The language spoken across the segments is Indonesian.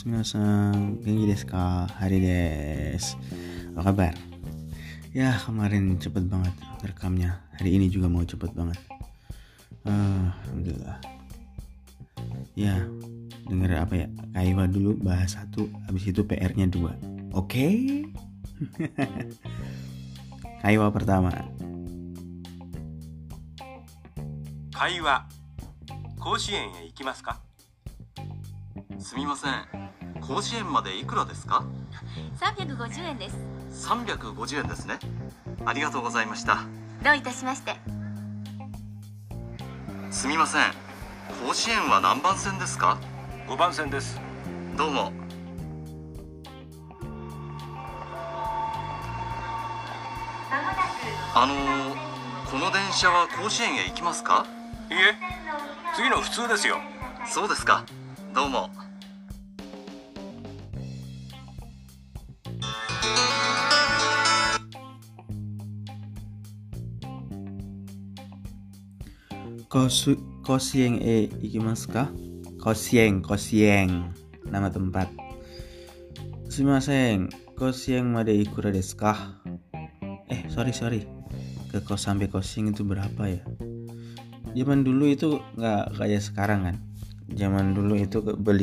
Sumimasen, genki desu ka? Hari desu. Apa kabar? Ya, kemarin cepet banget rekamnya. Hari ini juga mau cepet banget. Alhamdulillah. Ya, denger apa ya? Kaiwa dulu bahas 1, habis itu PR-nya 2. Oke? Kaiwa pertama. 会話甲子園へ行きますか？ すみません、甲子園までいくらですか 350円です。 ？350円ですね。ありがとうございました。 どういたしまして。 すみません、甲子園は何番線ですか 5番線です。 どうも。この電車は甲子園へ行きますか？ いえ、次の普通ですよ。 そうですか、どうも。 Koshieng ikimasu ka? Koshieng, nama tempat. Sumimasen, Koshieng made ikura desu ka? Sorry. Ke kos sampai Koshieng itu berapa ya? Zaman dulu itu nggak kayak sekarang kan. Zaman dulu itu beli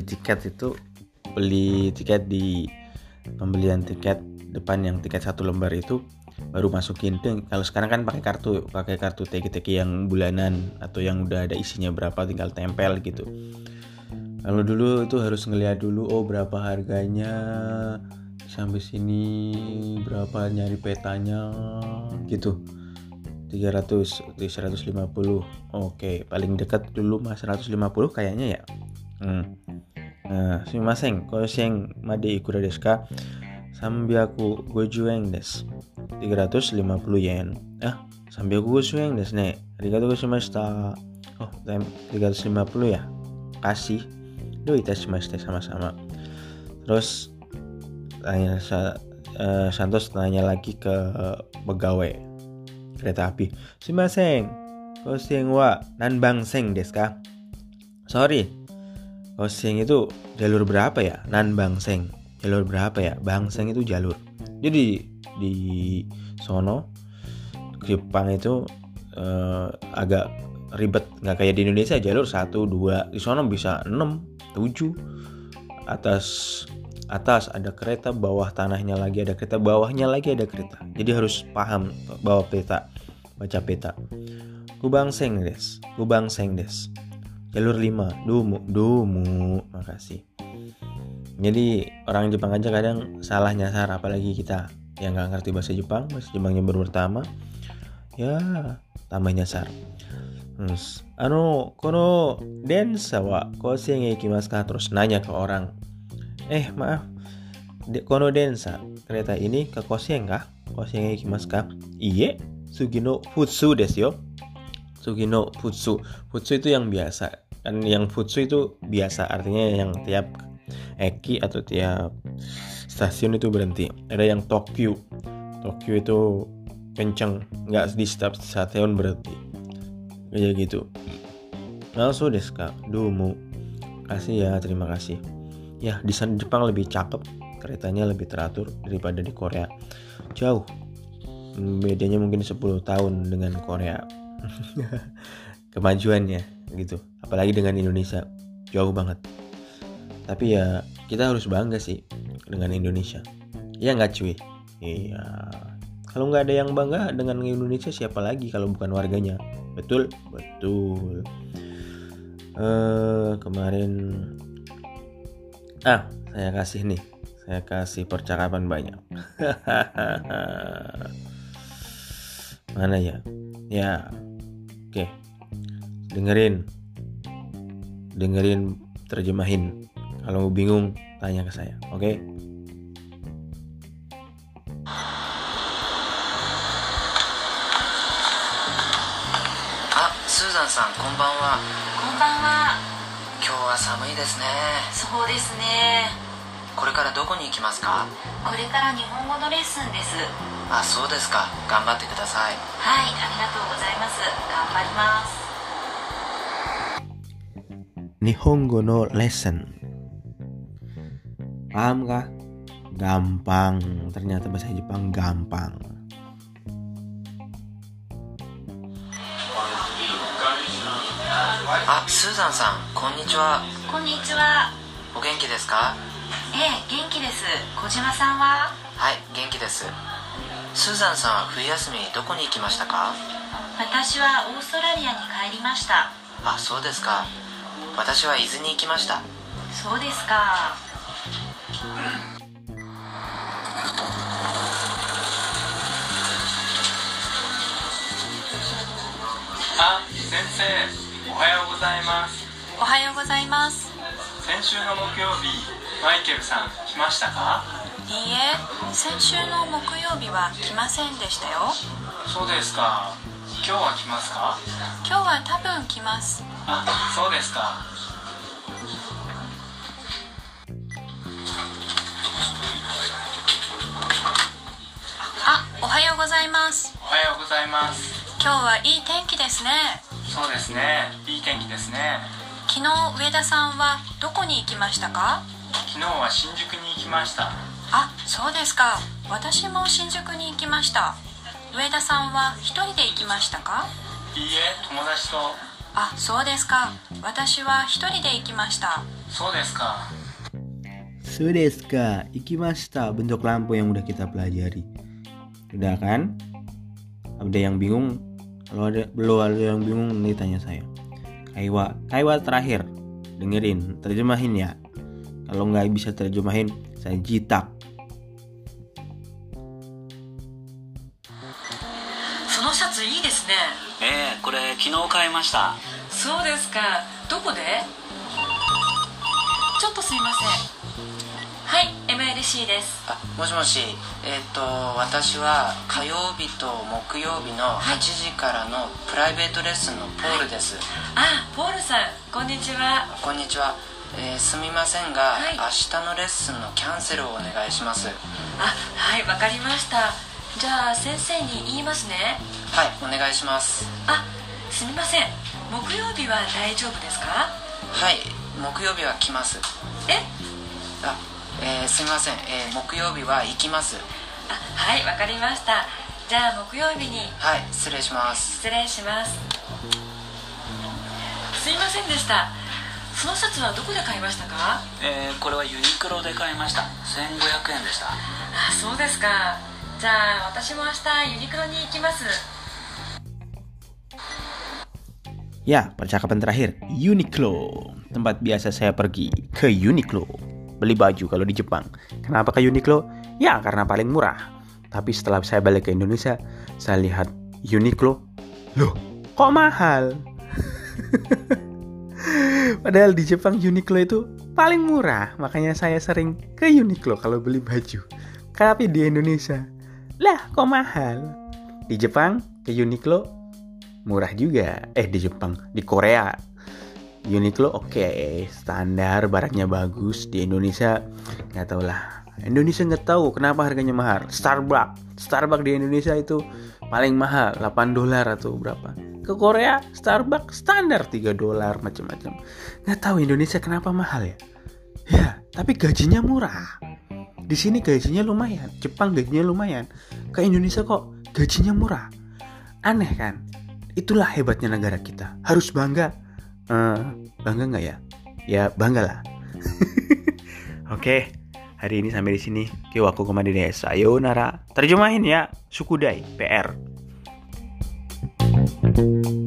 tiket di pembelian tiket depan, yang tiket 1 lembar itu baru masukin tuh. Kalau sekarang kan pakai kartu teki yang bulanan atau yang udah ada isinya berapa tinggal tempel gitu. Kalau dulu itu harus ngeliat dulu, berapa harganya sampai sini, berapa, nyari petanya gitu. 300, 150. Oke, paling dekat dulu mah 150 kayaknya ya. Sumimasen, Koshieng made ikura desu ka? 350 yen desu. 350 yen. 350 yen desu ne. Arigatou gozaimashita. 350 ya. Kasih. Do itashimashita, sama-sama. Terus Santos tanya lagi ke pegawai kereta api. Sumimasen, Koshieng wa nanbangsen desu ka? Sorry, Koshieng itu jalur berapa ya? Nanbangsen jalur berapa ya? Bangseng itu jalur. Jadi di sono Jepang itu agak ribet, nggak kayak di Indonesia jalur 1, 2. Di sono bisa 6, 7. Atas ada kereta, bawah tanahnya lagi ada kereta, bawahnya lagi ada kereta. Jadi harus paham, baca peta. Kubangseng des. Jalur 5, Dumu. Makasih. Jadi orang Jepang aja kadang salah nyasar, apalagi kita yang nggak ngerti bahasa Jepangnya baru pertama, ya tambah nyasar. Terus, kono densa wa Koshieng e ikimasu ka? Terus nanya ke orang, maaf, kono densa, kereta ini ke Koshieng kah? Koshieng e ikimasu ka? Iye, Sugino Futsu desu yo. Sugino Futsu itu yang biasa. Kan yang Futsu itu biasa, artinya yang tiap eki atau tiap stasiun itu berhenti. Ada yang Tokyo itu kenceng, nggak di setiap stasiun berhenti, kayak gitu. Langsung desu ka? Dumu. Kasih ya, terima kasih. Ya, di sana Jepang lebih cakep, keretanya lebih teratur daripada di Korea. Jauh, bedanya mungkin 10 tahun dengan Korea. Kemajuannya gitu, apalagi dengan Indonesia jauh banget. Tapi ya kita harus bangga sih dengan Indonesia. Ya nggak cuy? Iya. Kalau nggak ada yang bangga dengan Indonesia, siapa lagi kalau bukan warganya? Betul. Kemarin saya kasih percakapan banyak. Mana ya? Ya, oke. Dengerin terjemahin. Kalau bingung tanya ke saya, oke? Susan-san, konbanwa. こんばんは。 今日は寒いですね。 そうですね。 これからどこに行きますか？ これから日本語のレッスンです。 そうですか。頑張ってください。 はい、ありがとうございます。頑張ります。 Nihongo no lesson. Paham kah? Gampang. Ternyata bahasa Jepang gampang. スーザンさん、こんにちは。 こんにちは。 お元気ですか？ ええ、元気です。小島さんは？ はい、元気です。スーザンさんは冬休みどこに行きましたか？ 私はオーストラリアに帰りました。 あ、そうですか。私は伊豆に行きました。 そうですか。 先生、おはようございます。 おはようございます。 先週の木曜日、マイケルさん来ましたか？ いいえ、先週の木曜日は来ませんでしたよ。 そうですか。今日は来ますか？ 今日は多分来ます。 あ、そうですか。 おはようございます。 おはようございます。 今日はいい天気ですね。 そうですね。いい天気ですね。 昨日上田さんはどこに行きましたか？ 昨日は新宿に行きました。 あ、そうですか。私も新宿に行きました。上田さんは一人で行きましたか？ いいえ、友達と。 あ、そうですか。私は一人で行きました。 そうですか。 そうdesu ka? Ikimashita, bentuk lampu yang udah kita pelajari. Udah kan? Ada yang bingung? Kalau belum ada yang bingung, nanti tanya saya. Kaiwa terakhir. Dengerin, terjemahin ya. Kalau nggak bisa terjemahin, saya jitak. そのシャツいいですね。 これ昨日買いました。 そうですか。どこで？ちょっとすいません。はい、MLC です。 あ、もしもし。私は火曜日と木曜日の8時からのプライベートレッスンのポールです。 あ、ポールさん、こんにちは。 こんにちは。すみませんが、明日のレッスンのキャンセルをお願いします。 あ、はい、わかりました。じゃあ先生に言いますね。 はい、お願いします。 あ、すみません。木曜日は大丈夫ですか？ はい、木曜日は来ます。すみません、木曜日は行きます。 あ、はい、わかりました。じゃあ木曜日に。 はい、失礼します。 失礼します。すいませんでした。そのシャツはどこで買いましたか？ これはユニクロで買いました。1500円でした。 あ、そうですか。じゃあ私も明日ユニクロに行きます。 Ya, percakapan terakhir, Uniqlo. Tempat biasa saya pergi, ke Uniqlo. Beli baju kalau di Jepang. Kenapa ke Uniqlo? Ya, karena paling murah. Tapi setelah saya balik ke Indonesia, saya lihat Uniqlo. Loh, kok mahal? Padahal di Jepang Uniqlo itu paling murah. Makanya saya sering ke Uniqlo kalau beli baju. Tapi di Indonesia, lah kok mahal? Di Jepang ke Uniqlo murah juga. Di Jepang, di Korea Uniqlo oke, standar, barangnya bagus. Di Indonesia nggak tahu lah. Indonesia nggak tahu kenapa harganya mahal. Starbucks di Indonesia itu paling mahal, $8 atau berapa. Ke Korea Starbucks standar $3 macam-macam. Nggak tahu Indonesia kenapa mahal ya. Ya, tapi gajinya murah. Di sini gajinya lumayan. Jepang gajinya lumayan. Ke Indonesia kok gajinya murah. Aneh kan? Itulah hebatnya negara kita. Harus bangga. Bangga nggak ya? Ya bangga lah. Oke, hari ini sampai di sini. Kiwaku kemana desu. Sayonara. Terjemahin ya. Sukudai. PR.